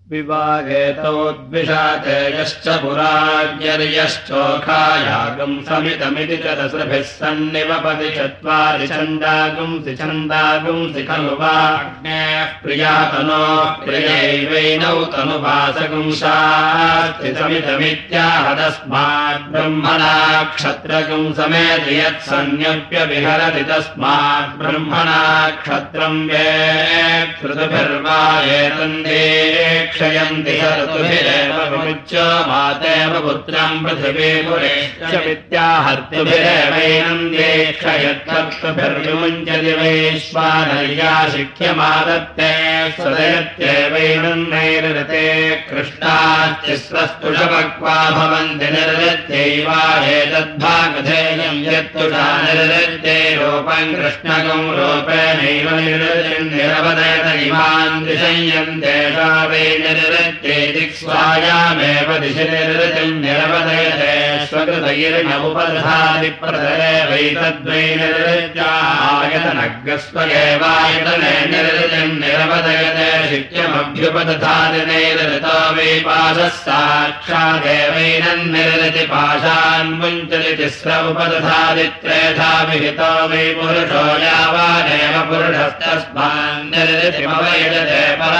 विवागेतौ द्विषाते यश्च पुराज्ञर्यश्चोखायागम् समितमिति च रसभिः सन्निवपति चत्वारि छन्दागुंसि छन्दागुंसि खलु वा अग्नेः प्रियातनो प्रियैवैनौ तनुवासगुंसास्ति समितमित्याहदस्मात् ब्रह्मणा क्षत्रगुं समेति यत्सन्न्यप्यविहरति तस्मात् ब्रह्मणा क्षत्रम् वेत्कृतभिर्वा एतन्दे क्षयन्ति ऋतुभिरेव विमुच्य मातेव पुत्रम् पृथिवीपुरेश्च विद्याहर्तुभिरेवैनम् क्षयत्कर्तुभिर्विमुञ्चति वैश्वानर्याशिख्यमादत्ते स्वदयत्येवैनम् नैरृते कृष्णास्तिस्रस्तुषपक्वा भवन्ति निर्वृत्यैवा एतद्भागधेयम् यत्तुषा निर्वृत्ते रूपम् कृष्णकम् रूपेणैव निर्वृतिम् निरवदयत इमान् दिशयन्तेषा वै निर्वृत्ते दिक्स्वायामेव दिशि निर्वृतिम् निरवदयते स्वकृतैर्नमुपदधादिप्रदयवैतद्वै निर्वृत्यायतनग्रस्वगेवायतने निर्वृतिम् निरवदयते शिक्यमभ्युपदधादिनैर्वृतो वै पाशः साक्षादेवैनम् निर्वृति पाशान् मुञ्चति तिस्र उपदधादित्रेधा विहितो वै पुरुषो यावानेव पुरुषस्तस्मान् निर्वृतिमवैजते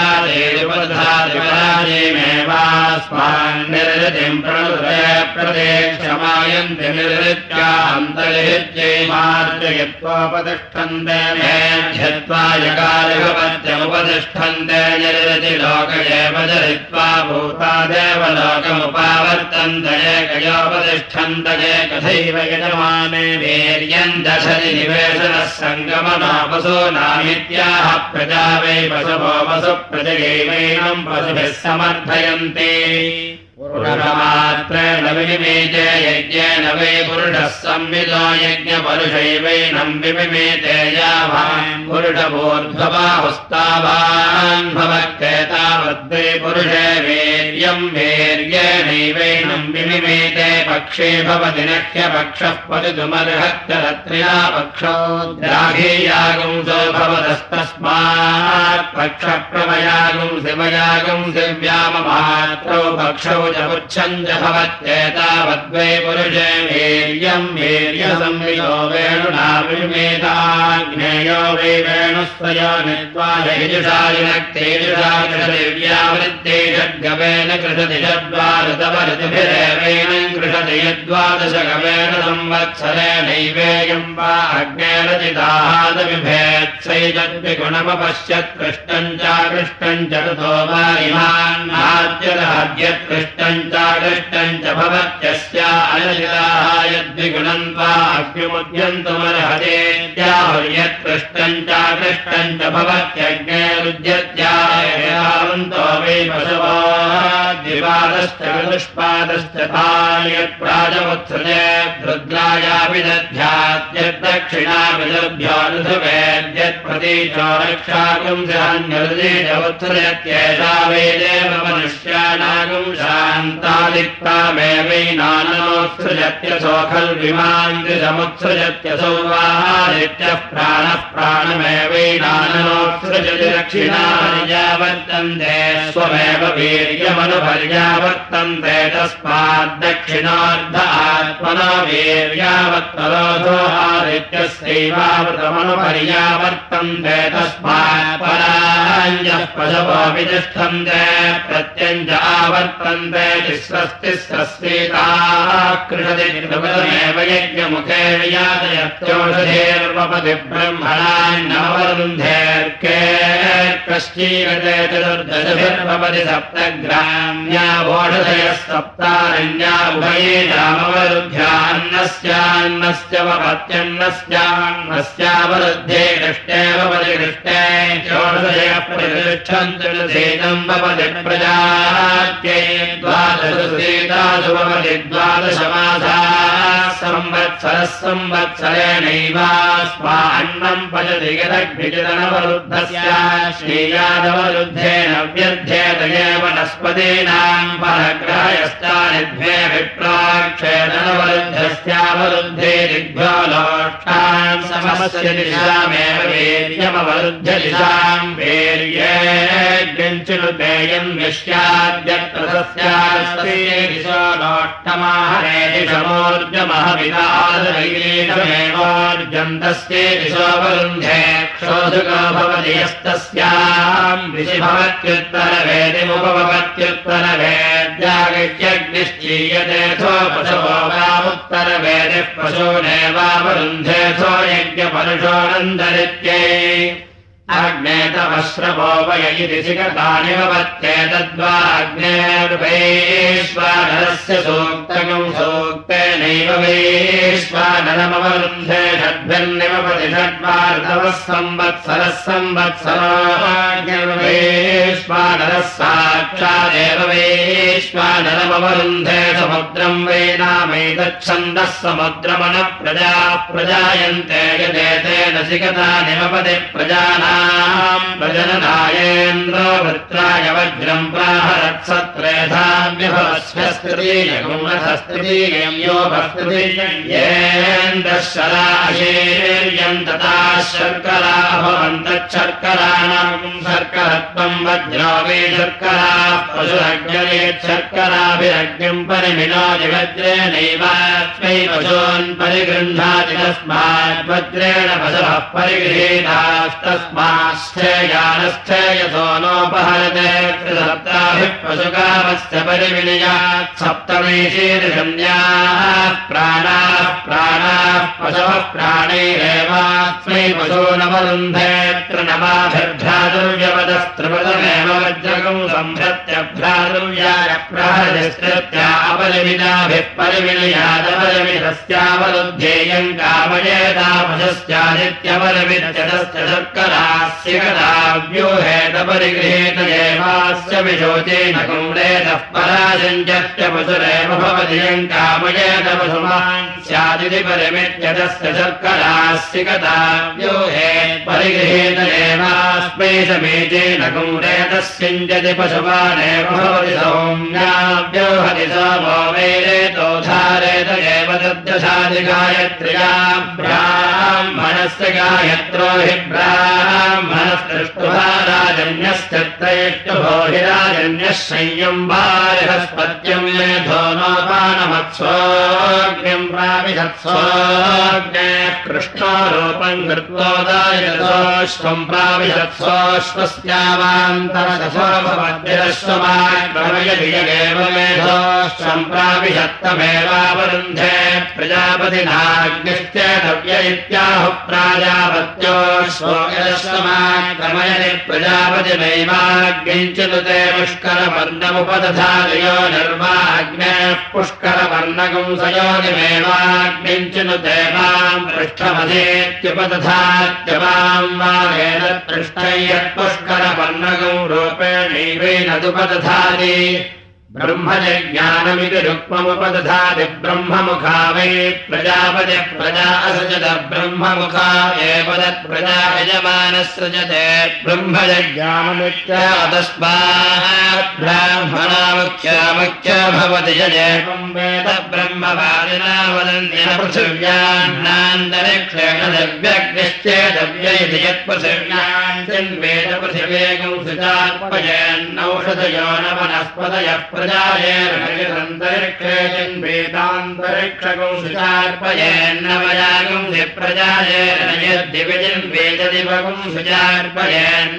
पराजेयुपदधादिपराजेमेवास्मान् निर्वृतिम् प्रणुदय प्रदेक्षमायन्ति निर्वृत्यान्तर्हित्यै मार्जयत्वोपतिष्ठन्ते मेध्यत्वा यकालिभवत्यमुपतिष्ठन्ते निर्वृति लोक एव जरित्वा भूतादेव लोकमुपावर्तन्त एकयोपतिष्ठन्त एकथैव यजमाने वीर्यम् दशति निवेशनः सङ्गमनापसूनामित्याह प्रजा वै पशवो वसुप्रजयैवैनम् पशुभिः समर्थयन्ति पुरुषमात्रेण विमिमेते यज्ञेन वै पुरुषः संविदो यज्ञपरुषैवैनम् विमिमेते यावान् पुरुषपूर्ध्वबाहुस्तावान् भवत्येतावद्वै पुरुषे वीर्यम् वीर्येणैवैनम् विमिमेते पक्षे भवति नह्यपक्षः पतितुमर्हत्य रत्र्या पक्षो द्राघीयागुंसो भवतस्तस्मात् पक्षप्रमयागुंसि वयागुंसि व्याममात्रौ पक्षौ पुच्छञ्च भवत्येतावद्वै पुरुषे वीर्यम् वीर्यसंविदो वेणुना विमेताग्नेयो वै वेणुस्वयो निर्द्वारयजुषायुनक्तेजुषा कृषदिव्यावृत्ते षड्गवेन कृषति षड्वारतवऋतुभिरेवैनम् कृषति यद्वादशगवेन संवत्सरेणैवेयम् वा अग्नेरचिदाहादविभेत्सैतद्विगुणमपश्यत् कृष्णम् चाकृष्टम् च ऋतो वा इमान्नाद्यदाद्यत् कृष्णम् चाकृष्टम् च भवत्यस्या अनजिदाः यद्विगुणम् त्वा अग्निमुद्यन्तुमर्हतेत्याहुर्यत् कृष्णम् चाकृष्टम् च भवत्यग्नेरुद्यत्यावन्तो वै पशवो द्विपादश्च ऋतुष्पादश्च तान्यत् प्राजमुत्सृजे रुद्रायापि दध्याद्यद्दक्षिणाभिदभ्यो ऋतुवेद्यत् प्रतीचो रक्षागुंसहान्यरुदेश उत्सृजत्येषा वै देव मनुष्याणागुं शान्तादिक्तामेवैनानोत्सृजत्यसो खल्विमान्तिसमुत्सृजत्यसौ वाहादित्यः प्राणः प्राणमेवैनानोत्सृजति दक्षिणार्यावर्तन्ते स्वमेव वीर्यमनुपर्यावर्तन्ते तस्माद्दक्षिणार्ध आत्मनो वीर्यावत्तरोधो आदित्यस्यैवावृतमनुपर्यावर्तन्ते तस्मात् पराञ्जः पशवो वितिष्ठन्ते प्रत्यञ्च आवर्तन्ते तिस्रस्तिस्रस्यैताः कृषति निर्वृतमेव यज्ञमुखे वियातयत्योषधेर्वपति ब्रह्मणान्नवरुन्धेर्केऽर्कश्चीरते चतुर्दशभिर्भवति सप्तग्राम्या वोषधयः सप्तारण्या उभयेषामवरुध्यान्नस्यान्नस्य वपत्यन्नस्यान्नस्यावरुद्धे कृष्णे भवति कृष्णे चोषधयः प्रतिष्ठन्ति सेदम् भवति प्रजात्यै द्वादशसेतासु भवति द्वादशमासाः संवत्सरः संवत्सरेणैवास्मान्नम् पचति यदग्निचिदनवरुद्धस्य श्रीयादवरुद्धेन व्यध्येत एव वनस्पतीनाम् परग्रहयश्चानिद्वे विप्राक्षेदनवरुद्धस्यावरुद्धे दिग्भ्यो लोष्टान् समस्य दिशामेव वीर्यमवरुध्य दिशाम् वीर्येऽग्निञ्चिनुतेयम् विश्याद्यत्र तस्यास्ते दिशो लोष्टमाहरे दिशमोर्जमहविदादरैरेषमेवोर्जन्तस्ये दिशोऽवरुन्धे क्षोधुको भवति यस्तस्याम् दिशि भवत्युत्तरवेदिमुपभवत्युत्तरवेद्यागत्यग्निश्चीयतेऽथो पशवो वामुत्तरवेदिः पशूनेवावरुन्धेऽथो यज्ञपरुषोऽनन्दरित्यै अग्ने तवश्रवो वय इति सिकतानि भवत्येतद्वाग्नेर्वैश्वानरस्य सूक्तकम् सूक्तेनैव वैश्वानरमवरुन्धे षड्भिर्निमपति षड्वार्धवः संवत्सरः संवत्सरोऽग्निर्वैश्वानरः साक्षादेव वैश्वानरमवरुन्धे समुद्रम् वैनामैतच्छन्दः समुद्रमनः प्रजाः प्रजायन्ते यदेतेन सिकतानिमपति प्रजानाम् प्रजननायेन्द्रो वृत्राय वज्रम् प्राहरत्सत्रेधाम्यभवस्वस्तृतीयम् यो भस्तृतीयेन्द्रः शराशेर्यम् तथा शर्करा भवन्तच्छर्कराणाम् शर्करत्वम् वज्रो वै शर्कराः पशुरग्नेत् शर्कराभिरग्निम् परिमिनोति वज्रेणैवास्मै पशून् परिगृह्णाति तस्मात् वज्रेण पशवः परिगृहीतास्तस्मात् स्थेयानस्थेयसो नोपहरते त्रिसप्ताभिः पशुकामस्य परिविनयात् सप्तमे शीर्षण्याः प्राणाः पशवः प्राणैरेवास्मै पशूनवरुन्धे त्रिनवाभिर्भ्रातुर्यवदस्त्रिपदमेव वज्रकम् संभृत्यभ्रातुर्याय प्रहरतिस्तृत्या अपरिमिताभिः परिविनयादपरिमितस्यावरुध्येयम् कामयेता पशुस्यादित्यपरिमित्यतस्य शर्करास्यकदाव्यूहेतपरिगृहीत एवास्य विशोचेन कुम्रेतः पराशञ्चस्य पशुरेव भवति यम् कामयेत पशुमान् स्यादिति परिमित्यतस्य शर्करास्यकदाव्यूहे परिगृहीत एवास्मै समीचेन कुम्रेतस्यञ्चति पशुमानेव भवति सौम्याव्यूहति सोमो वैरेतोधारेत एव तद्दशादि गायत्र्याम् ब्राह्मणस्य गायत्रो हि ब्राह्मणस्तृष्टुभा राजन्यश्चत्रयष्टुभो हि राजन्यः संयम्बारिहस्पत्यम् मेधो नोपानमत्सोऽग्निम् प्राविशत्सोऽग्ने कृष्णोरूपम् कृत्वोदायतोऽश्वम् प्राविशत्सोऽश्वस्यावान्तरदशो भवद्भिरश्वमाक्रमयति यगेव मेधोऽश्वम् प्राविशत्तमेवावरुन्धे प्रजापतिनाग्निश्चेतव्य इत्याहुः प्राजापत्योऽश्वमाक्रमयति प्रजापतिनैवाग्निञ्चिनुते पुष्करवर्णमुपदधादयो निर्वाग्नेः पुष्करवर्णकम् सयोनिमेवाग्निञ्चिनुते माम् पृष्ठमधेत्युपदधात्यमाम् वागेन पृष्ठै यत्पुष्करवर्णकम् रूपेणैवेनदुपदधाति ब्रह्मजज्ञानमिति रुक्ममुपदधाति ब्रह्ममुखा वै प्रजापतिः प्रजा असृजत ब्रह्ममुखा एव तत्प्रजा यजमानसृजते ब्रह्मजज्ञानमित्यतस्मात् ब्राह्मणामुख्या भवति यदेवम् वेद ब्रह्मवादिना वदन्ति पृथिव्यान्नान्तरिक्षेण दिव्यग्निश्चेदव्य इति यत्पृथिव्याञ्चिन्वेद पृथिवेगं सुचार्पयेन्नौषधयो न वनस्पतयः प्रजायेर्वेदान्तरिक्षेतिन्वेदान्तरिक्षकं सुचार्पयेन्नवयागं प्रजायेर्न यद्दिविजिन्वेददिवगं सुचार्पयेन्न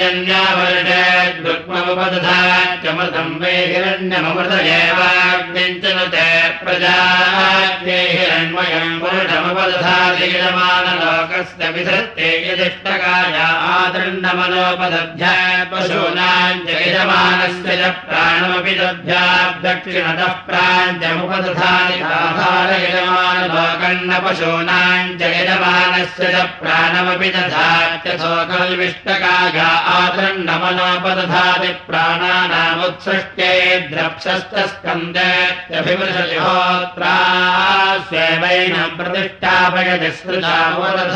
पर्जन्यावर्षेद्रुक्ममुपदधात्यमृतं वै हिरण्यमृत एवाग्निञ्चनुते प्रजाग्ने हिरण्मयं पुरुषमुपदधाति यजमानलोकस्य विधत्ते यदिष्टकाय आदण्डमनोपदध्यात् पशूनाञ्च यजमानस्य च प्राणमपि दध्यात् दक्षिणतः प्राञ्चमुपदधाति यजमानलोकन्न पशूनाञ्च यजमानस्य च प्राणमपि दधात्यथो कल्विष्टकाय आदण्डमनोपदधाति प्राणानामुत्सृष्ट्यै द्रप्सस्तस्कन्देत्यभिमृशति होत्रा स्वेवैनं प्रतिष्ठापयति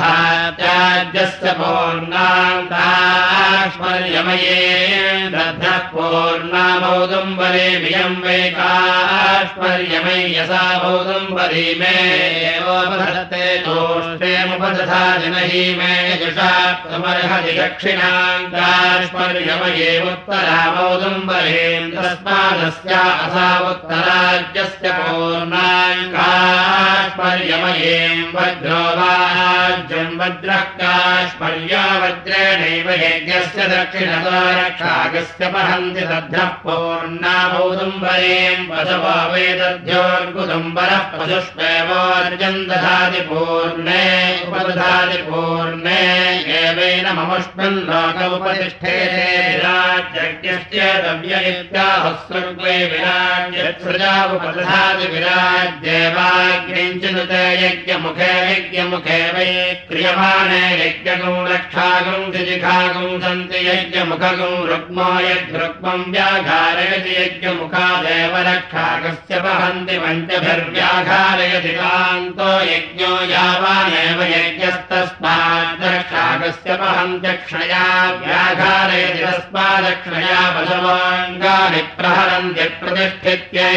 स्मृतामुपदधात्याज्यस्य पूर्णान्ताश्वर्यमये दध्ना पूर्णामौदुम्बरे मियं वै काष्पर्यमय्यसा मौदुम्बरी मे एवोपधत्ते तोष्टेमुपदधाति न हि मे यजुषाप्तमर्हति दक्षिणाम् काष्पर्यमये उत्तरामौदुम्बरीम् तस्मादस्या असा उत्तराज्यस्य पूर्णाम् काष्पर्यमयीम् वज्रो वाज्यम् वज्रः काष्पर्या वज्रेणैव यज्ञस्य दक्षिणतो रक्षागस्य पहन्ति तद्धः पूर्णामौदुम्बरीम् पशवो वै दध्योर्गुदुम्बरः पशुष्वेवोर्जम् दधाति पूर्णे उपदधाति पूर्णे एवेन ममुष्मिन् लोक उपतिष्ठेते विराज्यज्ञश्चेदव्य इत्याहुस्सर्वे विराज्यत्सृजा उपदधाति विराज्येवाग्निञ्चिनुते यज्ञमुखे यज्ञमुखे वै क्रियमाणे यज्ञगुं रक्षागुं दिजिखागुं सन्ति यज्ञमुखगुं रुक्मो यद्रुक्मं व्याघारयति यज्ञमुखादेव रक्षागस्य वहन्ति पञ्चभिर्व्याघारयति कान्तो यज्ञो यावानेव यज्ञस्तस्मात् रक्षागस्य वहन्त्यक्षया व्याघारयति तस्मादक्षया पशवाङ्गानि प्रहरन्ति प्रतिष्ठित्यै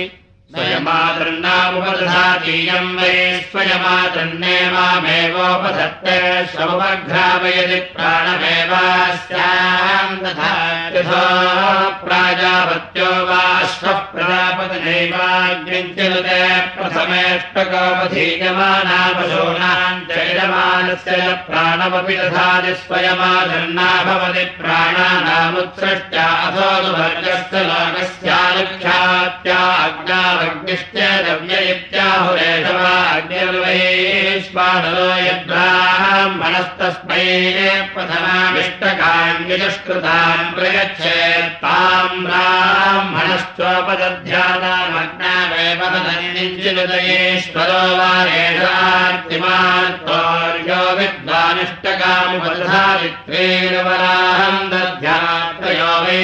स्वयमातृन्नामुपदधातीयं वै स्वयमातृन्नेवामेवोपधत्ते श्रवघ्रावयति प्राणमेवास्याम् तथा यथो प्राजापत्यो वा श्वः प्रजापतिनैवाग्निञ्चिनुते प्रथमेष्टकोपधीयमाना पशूनाम् चैरमानस्य प्राणमपि दधाति स्वयमातृन्ना भवति प्राणानामुत्सृष्ट्या अथो दुभर्गस्य लोकस्यानुख्यात्या अग्ना अग्निश्चेदव्य इत्याहुरेषवा अग्निर्वैश्वानरो यद्ब्राह्मणस्तस्मै प्रथमामिष्टकान्यजुष्कृताम् प्रयच्छेत् ताम् ब्राह्मणश्चोपदध्यानामग्नावेव तदन्निञ्चिनुदयेश्वरो वा एषार्तिमार्तोर्यो विद्वानिष्टकामुपदधारित्वेन वराहम् दध्यात्रयो वै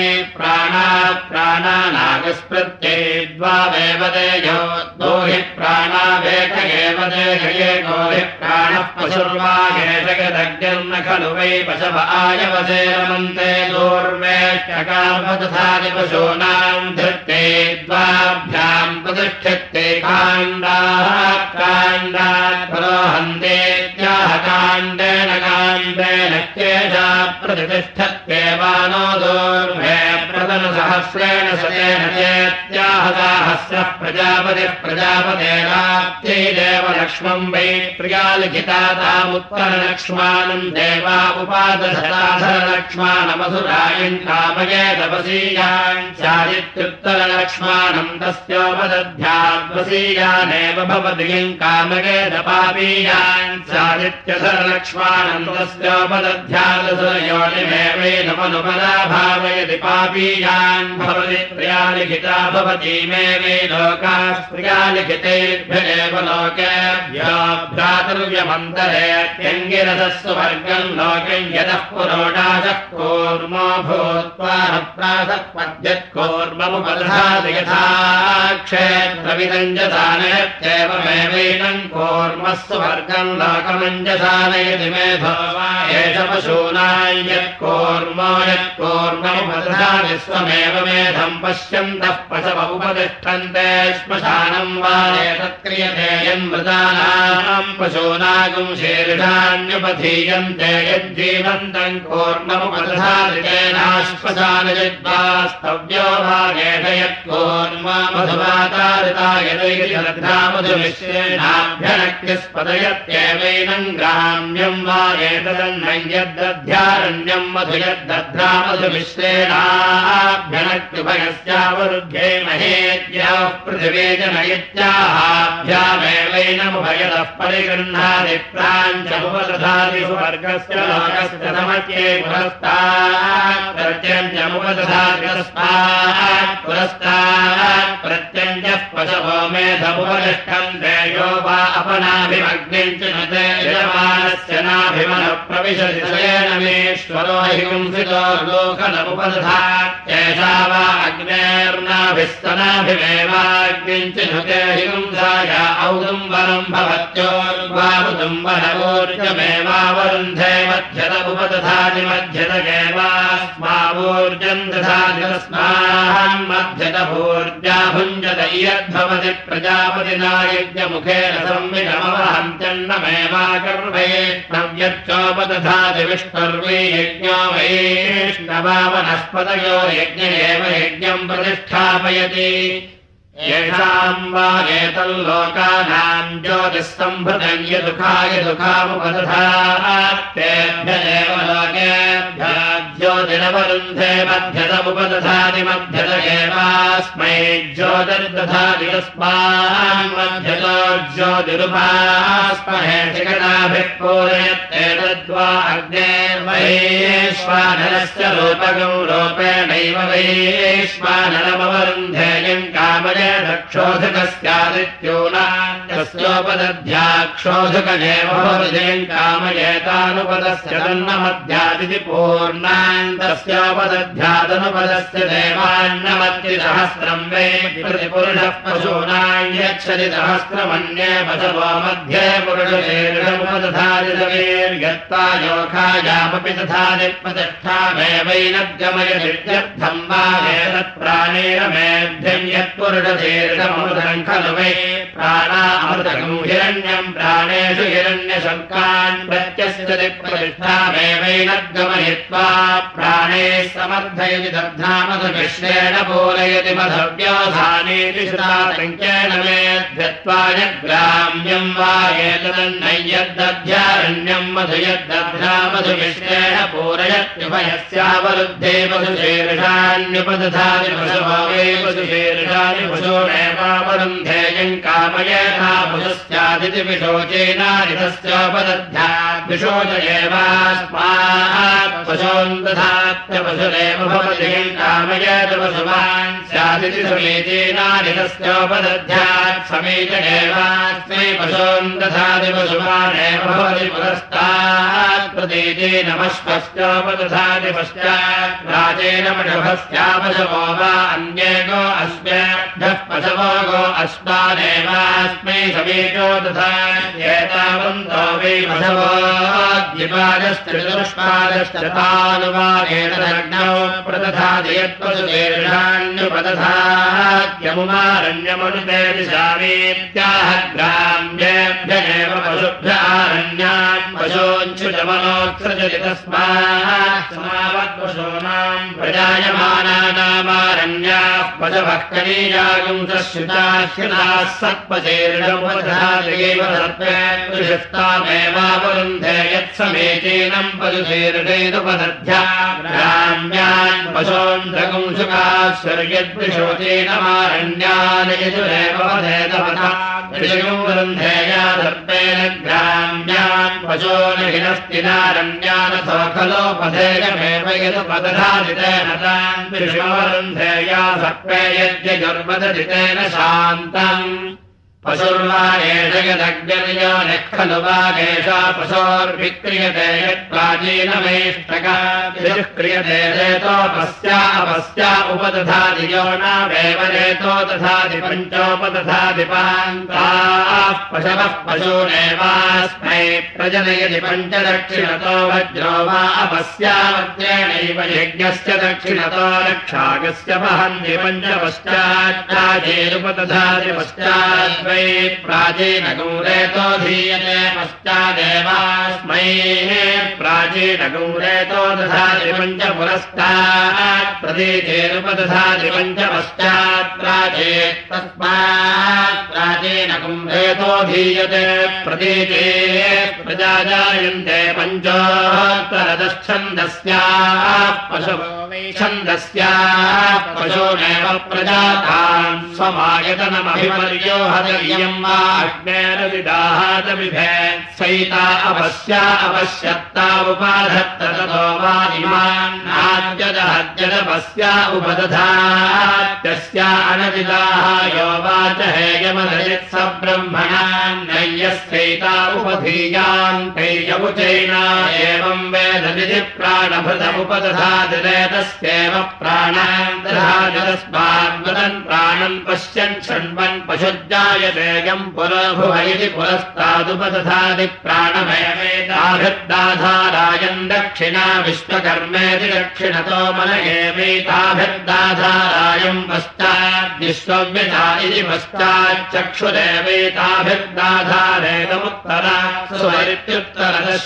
प्राणानागस्पृत्यै द्वावेव देयो दोहि प्राणावेक एव देहये गोहि प्राणः पशुर्वागेशगदग्निर्न खलु वै पशव आयवसे रमन्ते दूर्वेष्टकामदधाति पशूनाम् धृत्ते द्वाभ्याम् प्रतिष्ठित्ते काण्डाः काण्डात् पुरोहन्तेत्याह काण्डेन काण्डेन केशा प्रतिष्ठत्येवानो दूर्वे प्रदनसहस्रेण सतेन चेत्याहदाहस्रः प्रजापतिः प्रजापतेराप्त्यै देवलक्ष्मम् वै प्रियालिखिता तामुत्तरलक्ष्मानम् देवा उपादधराधरलक्ष्माणमधुरायम् कामये तपसीयान् स्यादित्युत्तरलक्ष्माणम् तस्योपदध्याद्वसीयानेव भवति यम् कामये तपापीयान् स्यादित्यधरलक्ष्माणम् तस्योपदध्यादसुरयोनिमेवैनमनुपदाभावयति पापीयान् भवति प्रियालिखिता भवति मे वै लोकाः प्रियालिखितेभ्येव लोकेभ्यो भ्रातृव्यमन्तरेत्यङ्गिरसस्सु वर्गम् लोकम् यतः पुरोडाशः कूर्मो भूत्वा न प्रासक्पद्यत्कूर्ममुपदधाति यथा क्षेत्रविदञ्जसानयत्येवमेवैनम् कूर्मस्सु वर्गम् लोकमञ्जसानयति मेधो वा एष पशूनाम् यत्कूर्मो यत्कूर्ममुपदधाति स्वमेव मेधम् पश्यन्तः पशव उपतिष्ठन्ते श्मशानम् वा एतत्क्रियते यन्मृतानाम् पशूनागुम् शीर्षाण्युपधीयन्ते यज्जीवन्तम् कूर्ममुपदधाति तेनाश्मशानयद्वास्तव्यो भागेश यत्कूर्ममधुवातारिता यदैर्यदध्रामधुमिश्रेणाभ्यनक्तिस्पदयत्येवैनम् ग्राम्यम् वा एतदन्नम् यद्दध्यारण्यम् मधु यद्दध्रामधुमिश्रेणाभ्यनक्त्युभयस्यावरुध्ये महेद्याः पृथिवे जनयित्याहाभ्यामेवैनमुभयतः परिगृह्णाति प्राञ्चमुपदधाति सुवर्गस्य लोकस्य नमत्ये पुरस्तात् प्रत्यञ्चमुपदधाति तस्मात् पुरस्तात् प्रत्यञ्चः पशवो मेधमुपतिष्ठन्ते यो वा अपनाभिमग्निम् च नुते यजमानस्य नाभिमनः प्रविशति स्वयेनमेश्वरो हि पुंसितो लोकनमुपदधात्येष एषा वा अग्नेर्नाभिस्तनाभिमेवाग्निञ्चिनुते हिंसाय औदुम्बरम् भवत्योर्वामुदुम्बरवोर्जमेवावरुन्धे मध्यत उपदधाति मध्यतगेवास्मावोर्जम् दधाति तस्मान् मध्यत भूर्जा भुञ्जत इयद्भवति प्रजापतिना यज्ञमुखेन संविषमवहन्त्यन्नमेवाकर्वे नव्यच्चोपदधाति विष्णुर्वे यज्ञो वैष्णवा वनस्पतयो यज्ञ एव यज्ञम् प्रतिष्ठापयति येषाम् वा एतल्लोकानाम् ज्योतिःसम्भृतम् यदुखाय दुःखामुपदधातेभ्य एव लोकेभ्यः ज्योतिरवरुन्धे मध्यतमुपदधाति मध्यत एवास्मै ज्योतिर्दधाति तस्मान् मध्यतो ज्योतिरुपास्महे शिखराभिः पूरयत्येतद्वा अग्नेर्वैश्वानरस्य रूपकम् रूपेणैव वैश्वानरमवरुन्धेयम् कामये क्षोधकस्यादित्योनान्तस्योपदध्याक्षोधकजेव भवजयम् कामयेतानुपदस्य तन्नमध्यादिति पूर्णान्तस्योपदध्यादनुपदस्य देवान्नमत्रिसहस्रम् वै प्रतिपुरुषः पशूनाम् यच्छति सहस्रमन्ये पशवो मध्ये पुरुषेरुपदधादितवीर्यत्ता योखायामपि तथादि प्रतिष्ठामेवैनद्गमयदित्यर्थम् वा एतत्प्राणेरमेभ्यम् यत्पुरुष शीर्षमृतम् खलु वै प्राणा अमृतकम् हिरण्यम् प्राणेषु हिरण्यशङ्कान् प्रत्यस्यति प्रतिष्ठामेवैनद्गमयित्वा प्राणैः समर्थयति दध्नामधुमिश्रेण पूरयति मधव्योधानेति श्रुतासङ्ख्येन मेध्यत्वाय ग्राम्यम् वा एतदन्नय्यद्दध्यारण्यम् मधु यद्दध्नामधुमिश्रेण पूरयत्युभयस्यावरुद्धे पशुशीर्षान्युपदधाति पशवो वै पशुशीर्षानि पशूनेवावरुन्धेयम् कामयेथा पशुस्यादिति विशोचेनादितस्योपदध्यात् विशोच एवास्मात् पशून् दधात्य पशुरेव भवति कामयेत पशुमान् स्यादिति समीचीनादितस्योपदध्यात् समीच एवास्मै पशून् दधाति पशुमानेव भवति पुरस्तात् प्रतीचीनमश्वस्योपदधाति पश्चात् प्राचेन पशवस्यापशवो वा अन्येको अस्म्याभ्यः पशवो गो अस्मादेवास्मै समीचो दधात्येतावन्तो वै पशवो द्विपादश्चतुष्पादश्चतानुवादेतदग्नौ प्रदधाति यत्पशुशीर्षाण्युपदधात्यमुमारण्यमनुते दिशामीत्याह ग्राम्येभ्य एव पशुभ्य आरण्यान् पशूञ्छुजमनोत्सृजति तस्मात् समावत्पशूनाम् प्रजायमानानामारण्याः पशवः कनीयागुंसश्रुताः सत्पशेर्षमुपदधात्यैव सर्पेत्पुरुषस्तामेवावरुन्धे यत्समीचीनम् पशुशीर्षेदुपदध्या ग्राम्यान् पशून्धकुंसुकाश्वर्यद्विशोचीनमारण्यान् यजुरेव वधेतवथा वरुन्धेया सर्पेण ग्राम्यान् पशून् हिनस्तिनारण्यानथो खलोपधेयमेव यदुपदधादितेन तान् विषमवरुन्धेया सर्पे यद्यजुर्वदधितेन शान्तम् पशुर्वा एष यदग्निर्यो निः खलु वा एषा पशोर्विक्रियते यत्प्राचीनमेष्टका क्रियते रेतोपस्या अपस्या उपदधाति यो नावेव रेतो दधाति पञ्चोपदधाति पान्ताः पशवः पशूनेवास्मै प्रजनयति पञ्चदक्षिणतो वज्रो वा अपस्या वज्रेणैव यज्ञस्य दक्षिणतो रक्षाकस्य वहन्ति पञ्चपश्चाच्चाचेरुपदधाति पश्चात् प्राचीनगौरेतो धीयते पश्चादेवास्मै प्राचीनगौरेतो दधाति पञ्चपुरस्तात् प्रतीचेरुपदधाति पञ्चपश्चात् प्राचेत् तस्मात् प्राचीनगौरेतो धीयते प्रतीचे प्रजाजायन्ते पञ्चोत्तरदच्छन्दस्याः पशवो वै छन्दस्याः पशूनेव प्रजातान् स्वमायतनमभिपर्योहत इयम् वा अग्नेरदिदाहादमिभेत् सैता अपस्या अपश्यत्ता उपाधत्त ततो वा इमान्नाद्यदहद्यदपस्या उपदधात्यस्या अनदिदाः यो वाच हेयमदयत् स ब्रह्मणा नय्यस्यैता उपधीयान्तैयमुचैना एवं वेदनिधि प्राणभृतमुपदधादिरेतस्यैव प्राणान् दधाति तस्माद्वदन् प्राणन् पश्यन् शृण्वन् पशुज्जायतेयम् पुरभुव इति पुरस्तादुपदधाति प्राणमेवेताभिर्दाधारायन् दक्षिणा विश्वकर्मेति दक्षिणतो मन एवैताभिर्दाधारायम् पश्चाद्विश्वव्यता इति पश्चाच्चक्षुरेवैताभिर्दाधारेदमुत्तरा सुवरित्युत्तरतः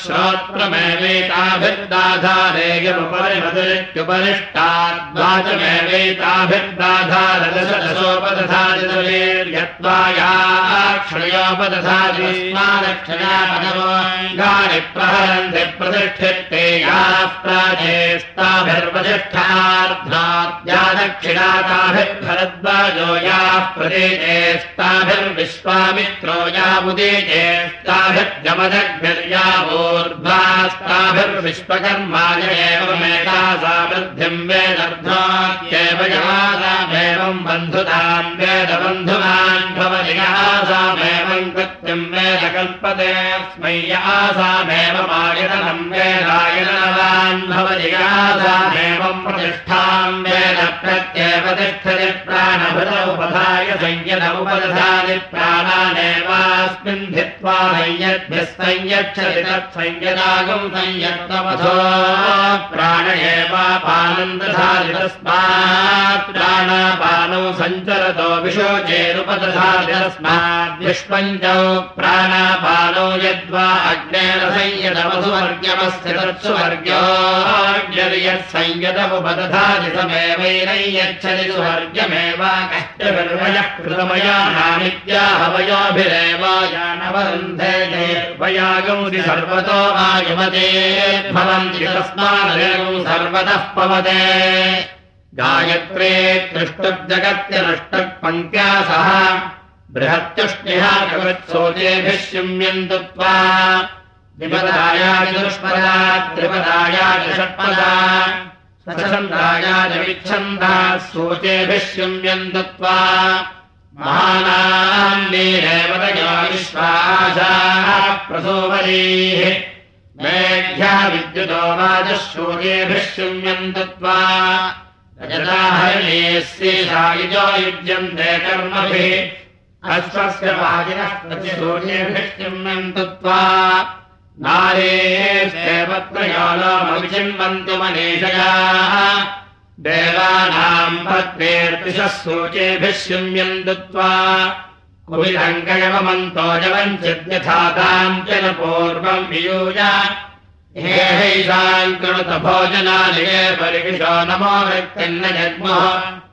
श्रोत्रमेवैताभिर्दाधारेदमुपरिमदरित्युपरिष्टाद्वाचमेवैताभिर्दाधारदशदशोपदधाति स्मादक्षिणापदगानि प्रहरन्ति प्रतिष्ठिते याः प्राचेस्ताभिर्वसिष्ठार्ध्नाद्या दक्षिणाताभिर्भरद्वाजो याः प्रदेशेस्ताभिर्विश्वामित्रो यावुदेशेस्ताभिर्जमदग्निर्यावूर्ध्वास्ताभिर्विश्वकर्माय एवमेकासा वृद्धिम् वेदर्ध्वात्येव यासामेवम् बन्धुताम् वेदबन्धुमान् भवति यासामेवम् कृत्यम् वेद कल्पते स्मै यासामेवमायतनम् वेदायतनवान् भवति यासामेवम् प्रतिष्ठाम् वेद प्रत्येव तिष्ठति प्राणभृत उपधाय संयतमुपदधाति प्राणानेवास्मिन् धित्वा संयद्भिः संयच्छति तत्संयदागम् संयत्तमथो प्राण एवापानम् दधाति तस्मात् प्राणापानौ सञ्चरतो विशोचेरुपदधाति तस्माद्विष्पञ्चौ प्राणापानौ यद्वा अग्नेन संयतमसुवर्ग्यमस्य तत्सुवर्ग्योऽग्निर्यत्संयतमुपदधाति समेवैनैयच्छति सुवर्ग्यमेवाकश्चभिर्वयः कृतमयानामित्याहवयोभिरेवायानवरुन्धे वयागौरि सर्वतो वायुमते भवन्ति तस्मादगौ सर्वतः पवते गायत्रे त्रिष्टुब्जगत्यनुष्टुप् सह बृहत्युष्णिः जगत्सोचेभिः शुम्यन्तु त्वा विपदाया चतुष्पदा त्रिपदाया च षट्पदा सचन्दाया च विच्छन्दा सोचेभिः शुम्यन्तु त्वा महानान्नीरेवतयो विश्वासाः प्रसोवरीः मेघ्या विद्युतो वाचः शूर्येभिः शुम्यन्तु त्वा रजताहरिणीस्येषायुजो युज्यन्ते कर्मभिः अश्वस्य वाजिनः प्रतिशूर्येभिः शुम्यन्तु त्वा नारेस्तेवत्रयो लोमविचिन्वन्तु मनीषयाः देवानाम् पत्नेर्दिशः सूचेभिः शुम्यन्तु त्वा कुविदङ्कयवमन्तो जवञ्चिद्यथा ताम् च न पूर्वम् वियूय हे हैषाम् कृणुत भोजनालये परिविशो नमो वृत्तिन्न जग्मुः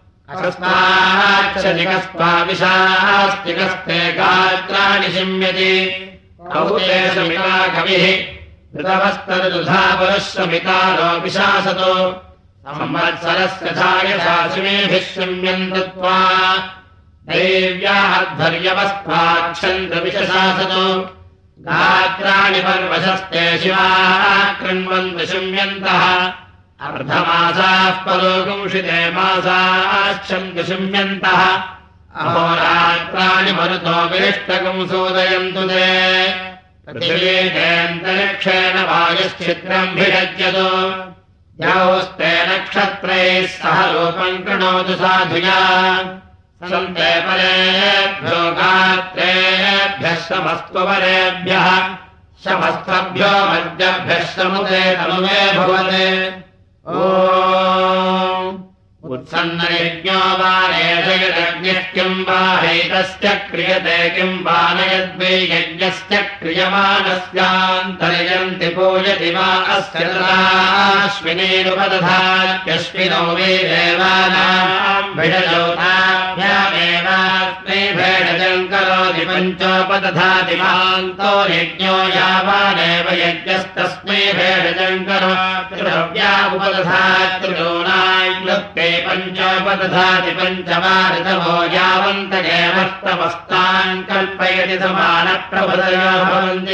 अस्माच्छदिकस्त्वाविशास्तिकस्ते गात्राणि शिम्यति कौते समिता कविः ऋतवस्तरदुधा पुरःसमितारो विशासतो संवत्सरस्य धायशासिमेभिः शुम्यन्तु त्वा देव्याः ध्वर्यवस्त्वाक्षन्तु विशशासतो गात्राणि पर्वशस्ते शिवाः कृण्वन्तु शुम्यन्तः अर्धमासाः परोगुंषिते मासाश्चन्तु शुम्यन्तः अहोरात्राणि मरुतो विरिष्टकम् सूदयन्तु ते पृथिवीतेऽन्तरिक्षेण वायुश्चित्रम् भिषज्यतो यौस्ते नक्षत्रैः सह रूपम् कृणोतु साधुया सन्ते परेभ्यो गात्रेभ्यः शमस्तु परेभ्यः शमस्तभ्यो मध्यभ्यः समुदे तनुवे भवते उत्सन्नयज्ञो वानेशयदग्निः किम् वा हैतस्य क्रियते किम् वा नयद्वै यज्ञस्य क्रियमाणस्यान्तर्यन्ति पूयति वा अस्य तदाश्विनीरुपदधात्यश्विनो वै देवानाम् भिषजोताभ्यामेवास्मै भेषजम् करोति पञ्चोपदधाति महान्तो यज्ञो यावानेव यज्ञस्तस्मै भेषजम् करोति त्रिभव्या उपदधात्रिलोनाय भृत्ते पञ्चोपदधाति पञ्चमा ऋतवो यावन्तकेवस्तवस्तान् कल्पयति समानप्रभृतयो भवन्ति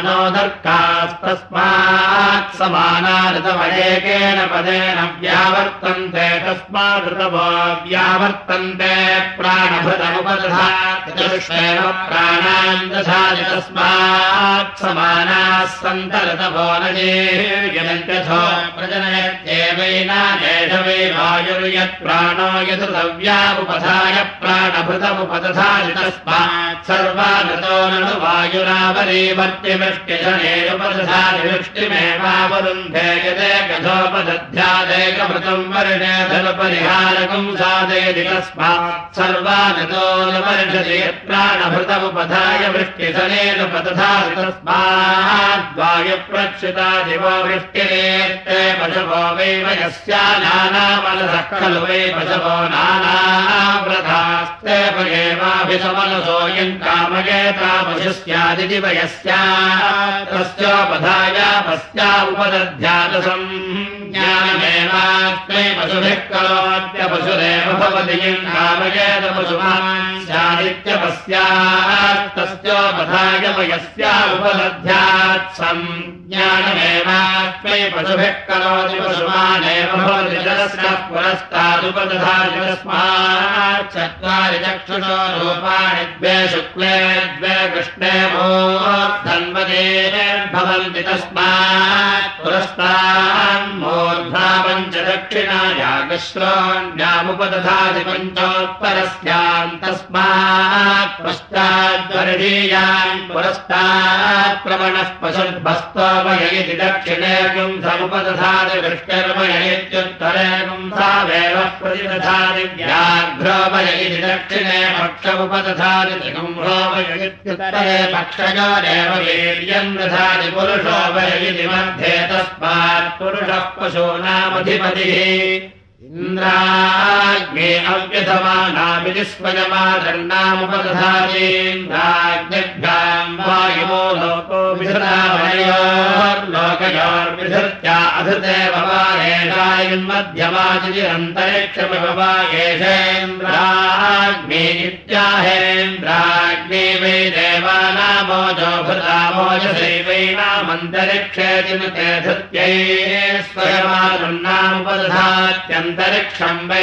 समानोदर्कास्तस्मात् समाना ऋतवयेकेन पदेन व्यावर्तन्ते तस्मात् ऋतवो व्यावर्तन्ते प्राणभृतमुपदधाति चतुष्वेव प्राणान् दधाति तस्मात् समानाः सन्त ऋतवो न जीर्यन्त्यथो प्रजनयत्येवैनादेश वै वायुर्यत् प्राणो यदुतव्यामुपधाय प्राणभृतमुपदधाति तस्मात् सर्वान् ऋतो ननु वायुरावरीवर्त्य वृष्टिजनेरुपदधाति वृष्टिमेवावरुन्धे यदेकथोपदध्यादेकभृतं वर्णे धनुपरिहारकं साधयति तस्मात् सर्वान् ऋतो न वर्षति यत्प्राणभृतमुपधाय वृष्टिजनेरुपदधाति तस्मात् वायुप्रक्षिता दिवो वृष्टिरेत्ते पशवो वै वयस्या नानामनसः खलु वै पशवो नानाव्रतास्ते पयेवाभिसमनसो यं कामयेता पशुस्यादिति वयस्या तस्योपधायापस्या उपदध्यातसं ज्ञानमेवास्मै पशुभिः करोत्यपशुरेव भवति यं कामयेत पशुमान् स्यादित्यपस्यास्तस्योपधाय वयस्या उपदध्यात्सं ज्ञानमेवास्मै पशुभिः करोति पशुमानेव भवति जलस्य पुरस्तादुपदधाति तस्मात् चत्वारि चक्षुषो रूपाणि द्वे शुक्ले द्वे कृष्णे मूर्धन्वते भवन्ति तस्मात् पुरस्तान्मूर्धा पञ्च दक्षिणायागश्रोण्यामुपदधाति पञ्चोत्तरस्याम् तस्मात् पश्चाद्वर्षीयान् पुरस्तात् प्रवणः पशुर्भस्तोमय इति दक्षिणे गुंसमुपदधाति वृष्टिर्मय इत्युत्तरे गुंसावेव प्रतिदधाति व्याघ्रोमय इति दक्षिणे पक्षमुपदधाति त्रिगुंभोमय इत्युत्तरे पक्षयोरेव वीर्यं दधाति पुरुषोमय इति मध्ये तस्मात् पुरुषः पशूनामधिपतिः इन्द्राग्ने अव्यधमानामिति स्वयमादण्डामुपदधातीन्द्राग्निभ्याम् वायुवो लोको विधृतामयोर्लोकयोर्विधृत्या अधृते भवानेषायन्मध्यमाचिरन्तरिक्षमिव वा एषेन्द्राग्ने इत्याहेन्द्राग्ने वै देवानामोजो भृतामोजसैवैनामन्तरिक्षेति न ते धृत्यै स्वयमादण्डामुपदधात्यम् अन्तरिक्षं वै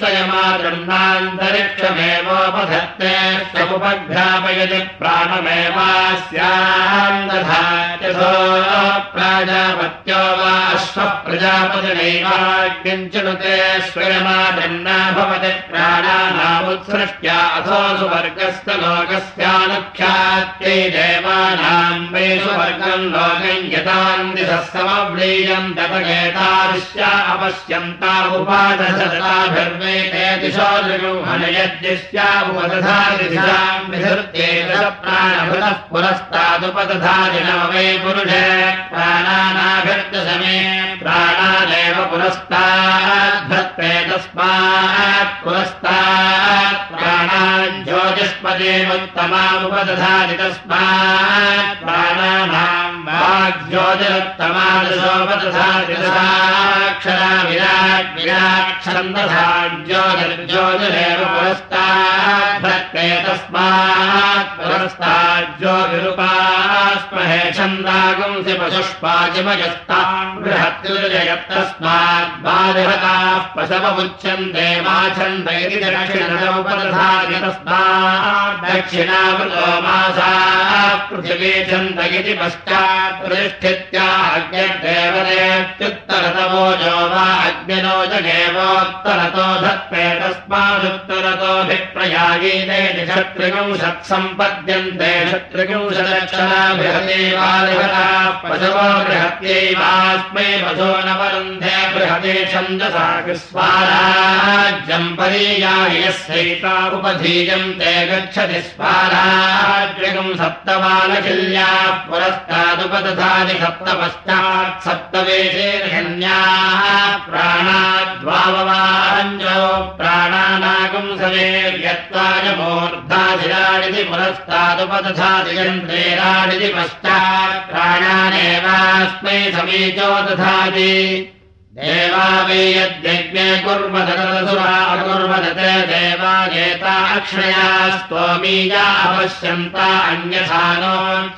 स्वयमादृह्णान्तरिक्षमेवोपधत्ते स्वमुपघ्रापयति प्राणमेवास्यान् दधात्यथो प्राजापत्यो वा अश्वः प्रजापतिनैवाग्निं चिनुते स्वयमादृह्णा भवति प्राणानामुत्सृष्ट्या अथो सुवर्गस्य लोकस्यानुख्यात्यै देवानां वै सुवर्गं लोकं यतान्दिशः समव्लीयं ततगेताविश्या अपश्यन्तामुपादशताभिर्वेते दिशो दृगुहनयद्दिश्यामुपदधाति दिशां विधृत्ये दश प्राणभृतः पुरस्तादुपदधाति नव वै पुरुषे प्राणानाभिर्दशमे प्राणानेव पुरस्ताद्धत्ते तस्मात् पुरस्तात् प्राणान् ज्योतिष्पदेमुत्तमामुपदधाति तस्मात् प्राणानां वाग्ज्योतिरुत्तमादशोपदधाति दशाक्षरा विराट् विराक्षरं दधाति ज्योतिर्ज्योतिरेव पुरस्ताद्धत्ते तस्मात् पुरस्तात् ज्योतिरुपास्महे छन्दागुंसि पशुष्पाचिमयस्ताम् बृहत्युर्जयत्तस्मात् बालिहताः पशवमुच्यन्ते मा छन्द इति दक्षिणमुपदधाति तस्मात् दक्षिणावृतो मासाः पृथिवी छन्द इति पश्चात् प्रतिष्ठित्या अग्निर्देवतेत्युत्तरतमोजो वा अग्निनोजगेवोत्तरतो धत्ते तस्मादुत्तरतोऽभिप्रयागीते षट्त्रिगुंशत्सम्पद्यन्ते षट्त्रिगुंशदक्षरा बृहती बालिहताः पशवो बृहत्यैवास्मै पशो न वरुन्धे बृहते छन्दसा स्वाराज्यं परीयाय यस्यैता उपधीयन्ते गच्छति स्वाराज्यं सप्तमालखिल्याः पुरस्तादुपदधाति सप्तपश्चात् सप्तवेशेर्हन्याः प्राणाद्वाववाञ्जो प्राणानागुंसवेर्यत्वाय मूर्धाधिराडिति पुरस्तादुपदधाति यन्त्रेराडिति पश्चात् प्राणानेवास्मै समीचो दधाति देवा वै यद्यज्ञे कुर्वदसुरा अकुर्वदते देवा एता अक्षया स्तोमीया अपश्यन्ता अन्यथानो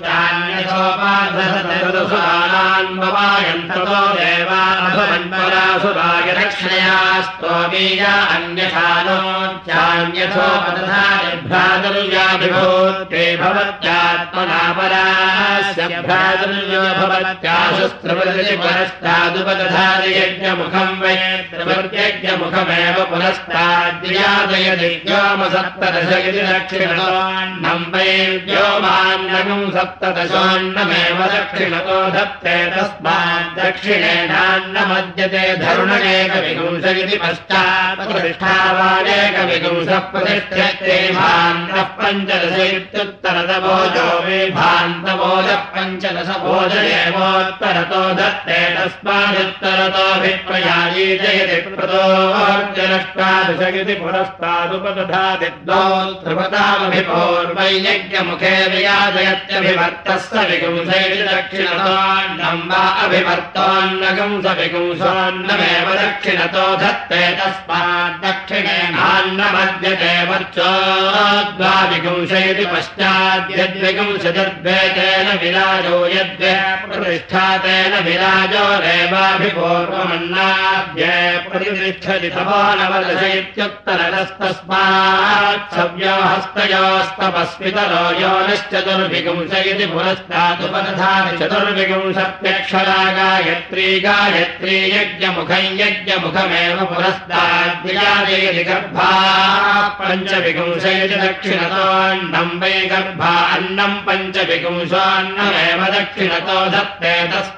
चान्यथोपाधसुरान्ववायन्ततो देवा अभवन्परासुराय रक्षया स्तोमीया अन्यथानो चान्यथोपदधाभ्रातुर्याभिभूते भवत्यात्मना परास्य भ्रातुर्यो भवत्याशुस्त्रवदति परस्तादुपदधादि यज्ञमुखम् वै त्रिवर्यज्ञमुखमेव पुरस्ताद्यादयति व्योमसप्तदश इति दक्षिणतोऽन्नम् वै व्योमान्नगम् सप्तदशोऽन्नमेव दक्षिणतो धत्ते तस्माद्दक्षिणेनान्नमद्यते धरुणेकविगुंस इति पश्चात् प्रतिष्ठावानेकविगुंसः प्रतिष्ठ्यते भान्तः पञ्चदश इत्युत्तरतभोजो वै भान्तभोजः पञ्चदश भोजनेवोत्तरतो धत्ते तस्मादुत्तरतो भिप्रयायीजयति प्रतोऽर्जनष्टादशगिति पुरस्तादुपदधाति द्वौ त्रिपदामभिपूर्वै यज्ञमुखे वियाजयत्यभिवर्तः स विगुंसैति दक्षिणतोऽन्नम् वा अभिवर्तोऽन्नगम् स विगुंसोऽन्नमेव दक्षिणतो धत्ते तस्माद्दक्षिणेनान्नमद्यते वर्चोद्वाविगुंसैति पश्चाद्यद्विगुंसजद्वेतेन विराजो यद्वे प्रतिष्ठातेन विराजो रेवाभिपूर्वमन्नाद्ये प्रतिष्ठति तपो नवदश इत्युत्तरतस्तस्मात् सव्यो हस्तयोस्तपस्वितरो योनिश्चतुर्विगुंस इति पुरस्तादुपदधाति चतुर्विगुंसत्यक्षरा गायत्री गायत्री यज्ञमुखं यज्ञमुखमेव पुरस्ताद्विजायति गर्भा पञ्चविगुंस इति दक्षिणतोऽन्नम् वै गर्भा अन्नम् पञ्चविगुंसोऽन्नमेव दक्षिणतो धत्ते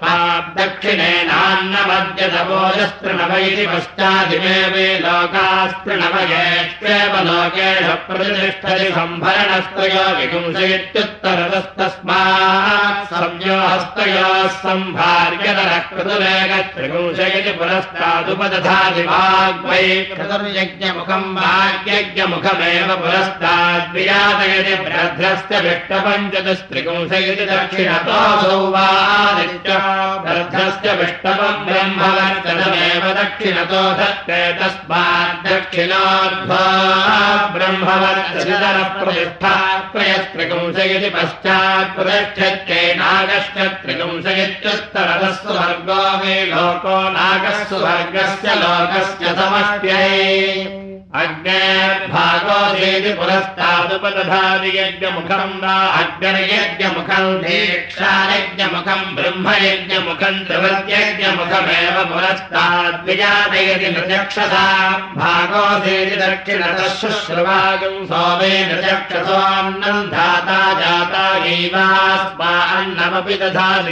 तस्माद्दक्षिणेनान्नमद्यतभोजस्तृणव इति पश्चादिमे वै लोकास्तृणवयेष्वेव लोकेषु प्रतिष्ठति सम्भरणस्त्रयो विगुंस इत्युत्तरतस्तस्मात् सव्यो हस्तयोः सम्भार्यतरः क्रतुरेकत्रिगुंस इति पुरस्तादुपदधाति वाग्वै क्रतुर्यज्ञमुखम् वाग्यज्ञमुखमेव पुरस्ताद्वियातयति भ्रद्रस्य विष्टपञ्चतस्त्रिगुंस इति दक्षिणतोऽसौ वादित्यो भ्रद्रस्य विष्टपम् ब्रह्मवर्चनमेव दक्षिणतो धत्ते तस्माद्दक्षिणोऽर्ध्वा ब्रह्मवर्चनः प्रतिष्ठा त्रयस्त्रिगुंस इति पश्चात् प्रतिष्ठत्यै नागश्च त्रिगुंस इत्युत्तरतः सुवर्गो वै लोको नागः सुवर्गस्य लोकस्य समष्ट्यै अग्नेर्भागोऽधीति पुरस्तादुपदधाति यज्ञमुखम् वा अग्निर्यज्ञमुखम् दीक्षायज्ञमुखम् ब्रह्मयज्ञमुखम् त्रिवद्यज्ञमुखमेव पुरस्ताद्विजातयति नृचक्षसा भागोऽधीति दक्षिणतः शुश्रुवागम् सोमे नृचक्षसोऽन्नम् धाता जाता गैवास्मा अन्नमपि दधाति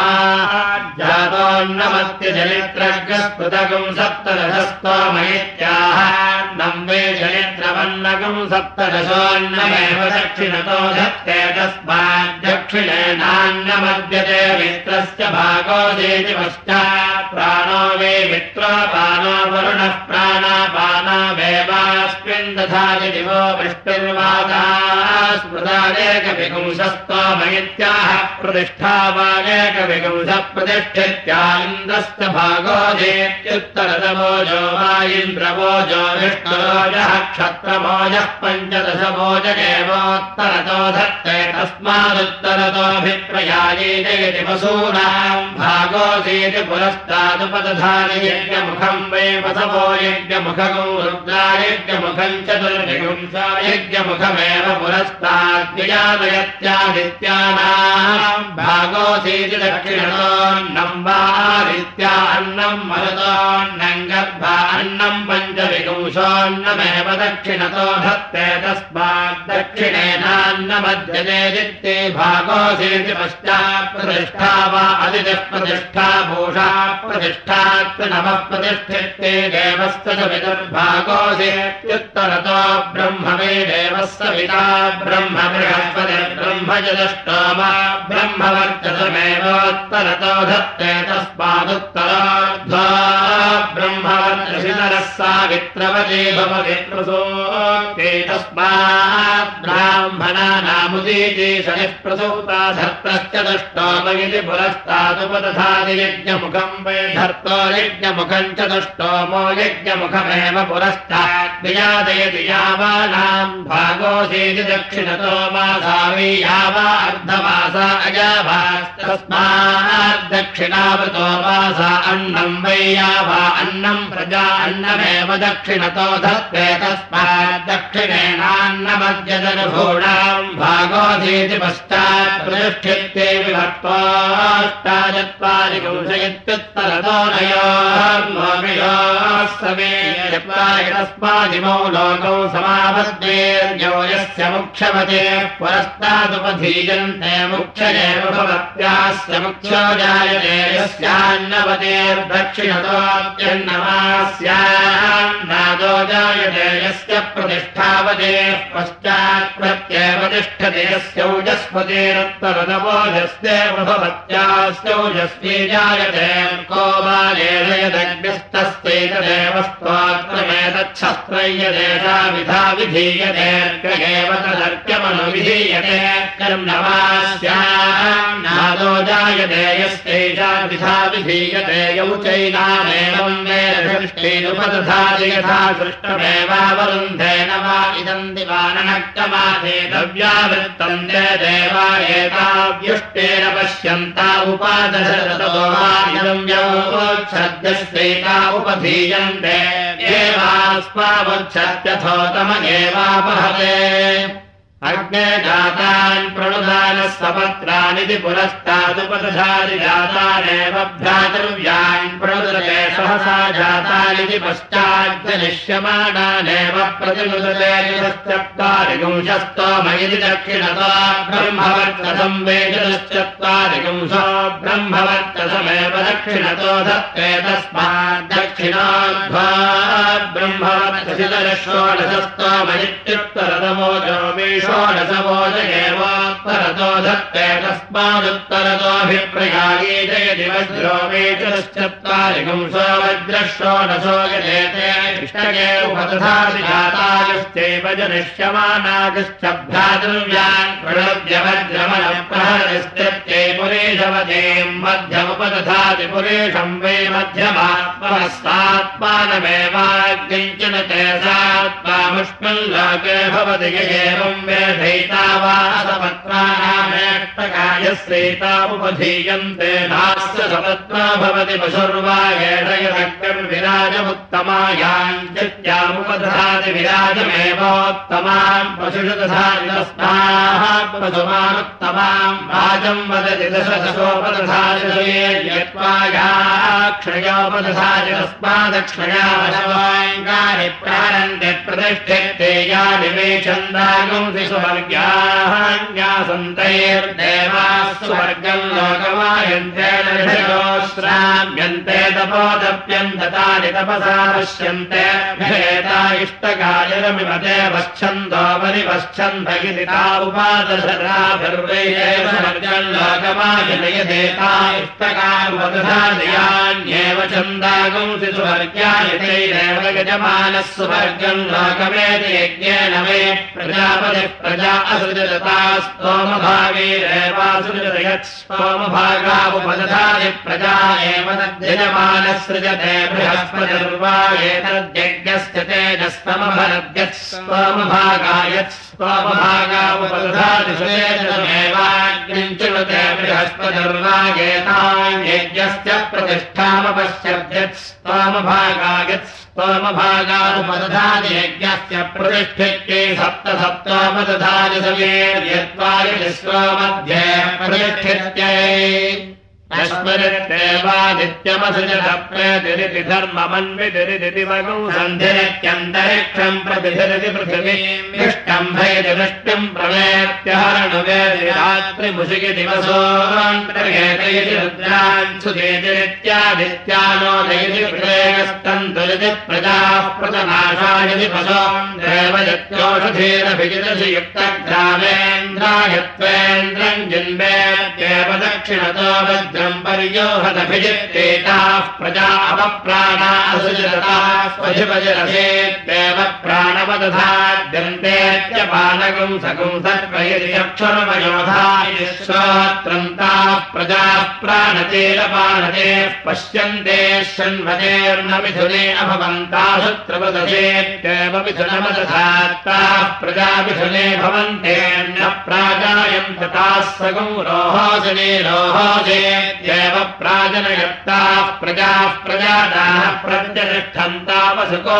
तस्माज्जातोऽन्नमत्यजनित्रग्रस्पृतगम् सप्तदशस्तोमयित्याह वै जनित्रवन्नगम् सप्तदशोऽन्नमेव दक्षिणतो धत्ते तस्माद्दक्षिणेनान्नमद्यते मित्रस्य भागोऽधीति पश्चात् प्राणो वै मित्रोपानो वरुणः प्राणापानावेवास्मिन् दधाति दिवो वृष्टिर्वादास्मृतानेकविगुंसस्तोमयित्याह प्रतिष्ठावानेकविगुंसः प्रतिष्ठित्या इन्द्रस्य भागोऽधीत्युत्तरतमोजो वा इन्द्रवोजो विष्णुरोजः क्षत्रमोजः पञ्चदशभोजनेवोत्तरतो धत्ते तस्मादुत्तरतोऽभिप्रयायीजयति वसूनाम् भागोऽधीति पुरस्तादुपदधाति यज्ञमुखम् वै वसवो यज्ञमुखगो रुद्रायज्ञमुखम् चतुर्विगुंसा यज्ञमुखमेव पुरस्ताद्विजातयत्यादित्यानाम् भागोऽधीति दक्षिणतोऽन्नम् वा आदित्या अन्नम् मरुतोऽन्नम् गर्भा अन्नम् पञ्चविगुंसोऽन्नमेव दक्षिणतो धत्ते तस्माद्दक्षिणेनान्नमद्यते दित्ते भागोऽधीति पश्चात् प्रतिष्ठा वा अदितिः प्रतिष्ठा भूषा प्रतिष्ठात् नवः प्रतिष्ठिते देवस्य च पितुर्भागोऽधीत्युत्तरतो ब्रह्म वै देवः सविता ब्रह्म बृहस्पतिर्ब्रह्मजदष्टोमा ब्रह्मवर्चसमेवोत्तरतो धत्ते तस्मादुत्तरार्ध्वा ब्रह्मवर्चसितरः सावित्रवती भवति प्रसूक्ते तस्मात् ब्राह्मणानामुदीति शनिः प्रसूता धर्तश्च दुष्टोमयिति पुरस्तादुपदधाति यज्ञमुखम् वै धर्तो यज्ञमुखम् च दुष्टोमो यज्ञमुखमेव पुरस्तात् विजादयति यावानाम् भागोऽसीति दक्षिणतो मासा वै यावा अर्धमासा अजाभास्तस्मात् दक्षिणावृतो मासा अन्नम् वै यावा अन्नम् प्रजा अन्नमेव दक्षिणतो धत्ते तस्मात् दक्षिणेनान्नमद्यदनुभूणाम् भागोऽसीति पश्चात् प्रतिष्ठित्ते विभक्त्वाष्टाचत्वारिकंशयत्युत्तरतो नयोर्मोमियोः समे तस्मादिमौ लोकौ समापद्येर्यो यस्य मुक्षवते पुरस्तादुपधीयन्ते मुक्षयेव भवत्यास्य मुक्षो जायते यस्यान्नवतेर्दक्षिणतोऽप्यन्नमास्यान्नादो जायते यस्य प्रतिष्ठावते पश्चात् प्रत्येव तिष्ठते यस्यौजस्पतेरुत्तरदवोजस्येव भवत्यास्यौजस्वी जायते को बालेदयदग्निस्तस्यैतदेव स्तोत्रमेतच्छस्त्रय्यदेशा विधा विधीयते एव तदर्क्यमनुविधीयते कर्मणमास्यान्नादो जायते यस्यैषा विधा विधीयते यौ चैनामेवं वेदृष्टेनुपदधाति यथा सृष्टमेवावरुन्धेन वा इदं दिवाननक्तमाधे द्रव्यावृत्तं ते देवा एताव्युष्टेन पश्यन्ता उपादशरतो वा इदं व्यवोच्छद्यस्यैता उपधीयन्ते एवास्मावच्छत्यथोतम एवापहते अग्ने जातान् प्रणुदानः सपत्रानिति पुरस्तादुपदधाति जातानेव भ्रातृव्यान् प्रणुदते सहसा जातानिति पश्चाद्जनिष्यमाणानेव प्रतिनुदते चतुश्चत्वारिगुंशस्तोमयिति दक्षिणतो ब्रह्मवर्चसं वेदश्चत्वारिगुंशो ब्रह्मवर्चसमेव दक्षिणतो धत्ते तस्मात् दक्षिणोऽध्वा ब्रह्मवर्चसितरः षोडशस्तोमयित्युत्तरतमोजो षोडशवोजयेवोत्तरतो धत्ते तस्मादुत्तरतोऽभिप्रयागी जयति वज्रो वेचश्चत्वारिगुंशो वज्रः षोडशो यजेते इष्टके उपदधाति जातायुश्चैव जनिष्यमानागश्च भ्रातृव्यान् प्रणुद्य वज्रमनप्रहरस्त्यै पुरेशवतीम् मध्यमुपदधाति पुरेशम् वै मध्यमात्मनस्तात्मानमेवाग्निञ्चन ते सात्मामुष्मिल्लोके भवति एवं वेधैता वा सपत्नानामेष्टकायस्यैतामुपधीयन्ते नास्य सपत्ना भवति पशुर्वा एषयदग्निर्विराजमुत्तमायाञ्चित्यामुपदधाति विराजमेवोत्तमाम् पशुषु दधाति तस्मात् पशुमानुत्तमाम् वाजं वदति दशदशोपदधाति यत्त्वायाक्षयोपदधाति तस्मादक्षया वशवाङ्गानि प्रारन्ते प्रतिष्ठिते यानि मे छन्दागुंसि सुवर्ग्यासन्तैर्देवाः सुवर्गम् लोकमायन्तेन ऋषयोश्राम्यन्ते तपोदप्यन्ततानि तपसा पश्यन्ते भेता इष्टकायरमिमते वच्छन्दो परिवच्छन्द इति ता उपादशराभिर्वैरेव सुवर्गम् लोकमायनयदेता इष्टकामुपदधादयान्येव छन्दागुंसि सुवर्ग्यानि तैरेव यजमानः सुवर्गम् लोकमेति यज्ञेन वै प्रजापतिः प्रजा असृजता स्तोमभागैरेवासृजत यत् स्तोमभागामुपदधाति प्रजा एव तद्यजमानः सृजते बृहस्पतिर्वा एतद्यज्ञस्य तेजस्तमभरद्यत् स्तोमभागायत् स्तोमभागामुपदधाति सुतेजमेवाग्निम् चिनुते बृहस्पतिर्वा एतान् यज्ञस्य प्रतिष्ठामपश्यद्यत् स्तोमभागायत् स्तोमभागानुपदधाति यज्ञस्य प्रतिष्ठित्यै सप्तसप्तोपदधाति सवेर्यत्वायिश्वो मध्ये प्रतिष्ठित्यै यस्मरित्येवादित्यमसृजत प्रेतिरिति धर्ममन्वितिरिति वगुं सन्धिरित्यन्तरिक्षम् प्रतिधिरिति पृथिवीम् विष्टम्भयति वृष्टिम् प्रवेत्यहरणुवेति रात्रिमुषिकि दिवसोऽन्तर्गेतयति रुद्रान् सुदेतिरित्यादित्यानोदयति प्रेयस्तन्तुरिति प्रजाः प्रतनाशायति पशोन् देवयत्योषधीरभिजितसि युक्तग्रामेन्द्रायत्वेन्द्रम् जिन्वेत्येव दक्षिणतो वज्र वज्रम् पर्योहदभिजित्तेताः प्रजा अपप्राणा असुजरता स्वधिपजरसेत्येव प्राणवदधाद्यन्तेत्यपानगुं सगुं सर्वयक्षरमयोधा श्रोत्रम् ताः प्रजाः प्राणतेरपानते पश्यन्ते शृण्वतेर्न मिथुने अभवन्ताशुत्रवदसेत्येव मिथुनमदधात्ताः प्रजा मिथुने भवन्तेर्न प्राजायन्त ताः सगुं रोहोजने रोहोजेत्येव प्राजनयत्ताः प्रजाः प्रजाताः प्रत्यतिष्ठन्तावसुको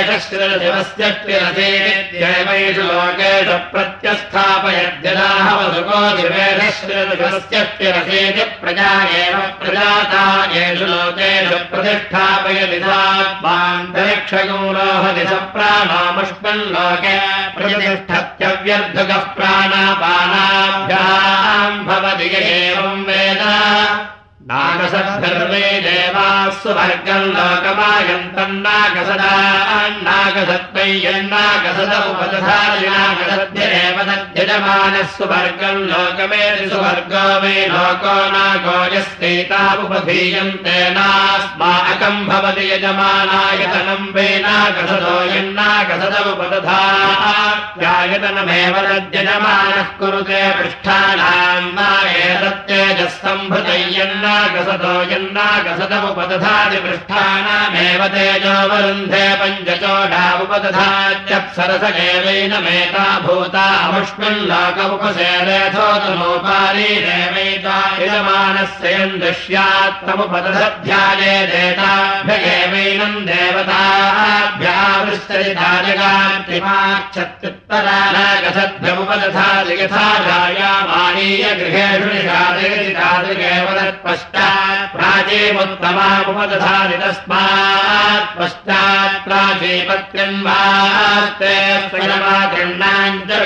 शिवेशश्रिरशिवस्यष्टिरसेत्येवैषु लोकेषु प्रत्यस्थापयद्यदाः वसुको शिवेशश्रिरशिवस्यष्टिरसेति प्रजा एव प्रजाता येषु लोकेषु प्रतिष्ठापयति सात्मान्तरिक्षगुं रोहति स प्राणामुष्मल्लोके प्रतिष्ठत्यव्यर्धुकः प्राणापानाभ्याम् भवति य एवं वेद नागसद्गर्वे देवाः सुवर्गम् लोकमायन्तन्नागसदान्नागसद्वै यन्नागसद उपदधादिनागसद्येव तद्यजमानः सुवर्गम् लोकमेति सुवर्गो वै लोको नागो यस्तेतावुपधीयन्ते नास्माकम् भवति यजमानायतनम् वै नागसदो यन्नागसद उपदधात्यायतनमेव तद्यजमानः कुरुते पृष्ठानाम् मा एतत्तेजस्तम्भृतय्यन्ना गसतो यन्नागसदमुपदधाति पृष्ठानामेव तेजो वरुन्धे पञ्चचोडावुपदधात्यप्सरस एवैनमेता भूता अमुष्मिल्लोक उपसेदेथोतनोपारीरेवैता यजमानस्य यन्दुष्यात्तमुपदधध्याये देताभ्यगेवैनम् देवताभ्यावृष्टरिताजगात्रिमाक्षत्युत्तरा नागसद्भ्यमुपदधाति यथा जायामानीय गृहेषु निषादयतितादृगेव तत्पश्चात् प्राचीमुत्तमामुपदधाति तस्मात् पश्चात् प्राचीपत्यन्वास्ते स्वयमातृण्णाम् च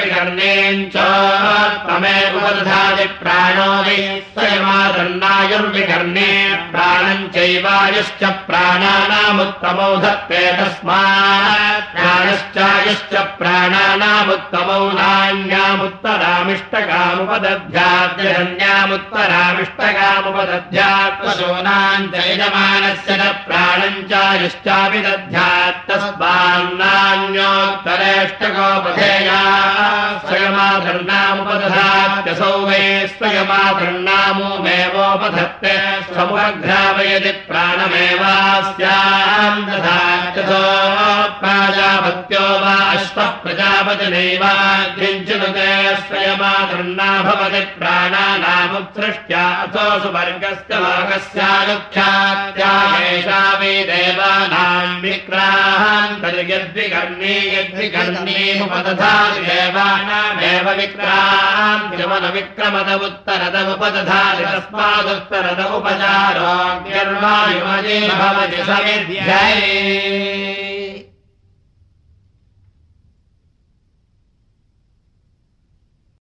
विकर्णेञ्चोत्तमेवुपदधाति प्राणो वै स्वयमातृण्णायुर्विकर्णे प्राणम् चैवायुश्च प्राणानामुत्तमौ धत्ते तस्मात् प्राणश्चायुश्च प्राणानामुत्तमौ नान्यामुत्तरामिष्टकामुपदध्याद्यन्यामुत्तरामिष्टकामुपदध्यात्मशोनाम् च यजमानस्य न प्राणम् चायुश्चापि दध्यात् तस्मान्नान्योत्तरेष्टकोपधेया स्वयमाधर्णामुपदधात्यसौ वै स्वयमाधर्णामुमेवोपधत्ते समुपघ्रावयति प्राणमेवास्याम् दधात्यसो प्राजापत्यो वा अश्वः प्रजापतिनैवाग्निञ्चनुते स्वयमाधर्णा भवति प्राणानामुत्सृष्ट्या अथो सुवर्गस्य लोकस्यानुख्यात्याहेषा वै देवानाम् विक्रान्तर्यद्विकर्णी यद्विकर्णीमुपदधाति देवानामेव विक्रान्त्यमनविक्रमद उत्तरदमुपदधाति तस्मादुत्तरद उपचारोऽग्निर्वायुमये भवति समिध्यै